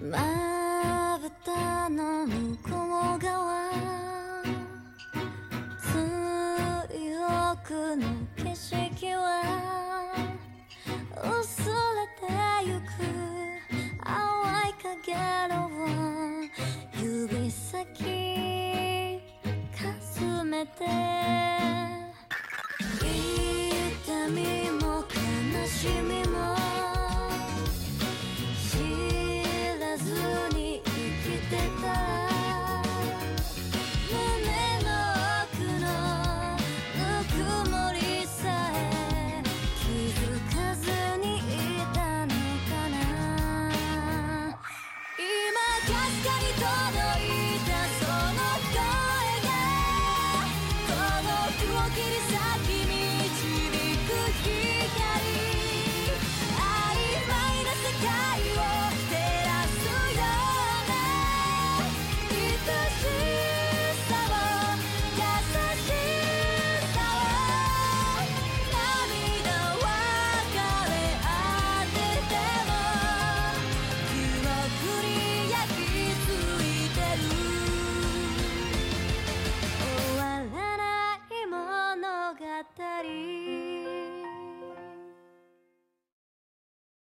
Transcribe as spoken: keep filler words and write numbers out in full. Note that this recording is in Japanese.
まぶたの向こう側水奥の景色は薄れてゆく淡い影の指先かすめて痛みも悲しみ